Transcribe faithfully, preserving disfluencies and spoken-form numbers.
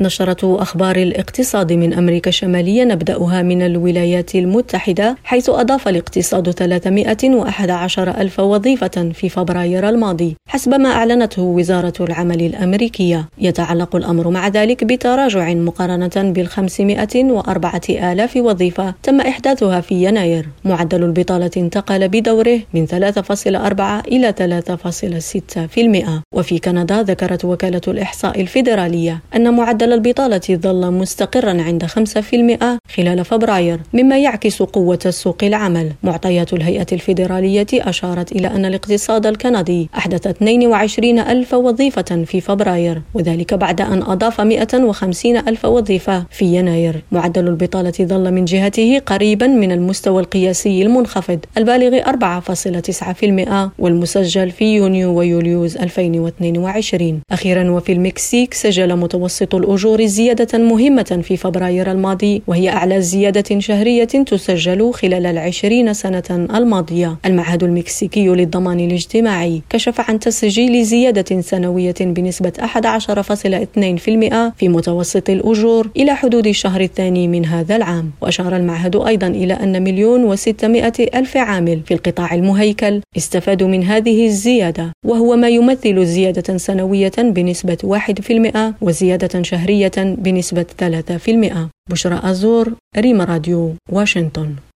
نشرة أخبار الاقتصاد من أمريكا الشمالية نبدأها من الولايات المتحدة، حيث أضاف الاقتصاد ثلاثمائة وأحد عشر ألف وظيفة في فبراير الماضي حسب ما أعلنته وزارة العمل الأمريكية. يتعلق الأمر مع ذلك بتراجع مقارنة بالخمسمائة وأربعة آلاف وظيفة تم إحداثها في يناير. معدل البطالة انتقل بدوره من ثلاثة فاصلة أربعة إلى ثلاثة فاصلة ستة بالمئة. وفي كندا ذكرت وكالة الإحصاء الفيدرالية أن معدل البطالة ظل مستقرا عند خمسة بالمئة خلال فبراير، مما يعكس قوة سوق العمل. معطيات الهيئة الفيدرالية أشارت إلى أن الاقتصاد الكندي أحدث اثنين وعشرين ألف وظيفة في فبراير، وذلك بعد أن أضاف مئة وخمسين ألف وظيفة في يناير. معدل البطالة ظل من جهته قريبا من المستوى القياسي المنخفض البالغ أربعة فاصلة تسعة بالمئة والمسجل في يونيو ويوليوز ألفين واثنين وعشرين. أخيرا، وفي المكسيك سجل متوسط الأجور زيادة مهمة في فبراير الماضي، وهي أعلى زيادة شهرية تسجل خلال العشرين سنة الماضية. المعهد المكسيكي للضمان الاجتماعي كشف عن تسجيل زيادة سنوية بنسبة أحد عشر فاصلة اثنين بالمئة في متوسط الأجور إلى حدود الشهر الثاني من هذا العام. وأشار المعهد أيضا إلى أن مليون وستمائة ألف عامل في القطاع المهيكل استفادوا من هذه الزيادة، وهو ما يمثل زيادة سنوية بنسبة واحد بالمئة وزيادة شهرية بنسبة ثلاثة بالمئة. بشرى أزور، ريم راديو، واشنطن.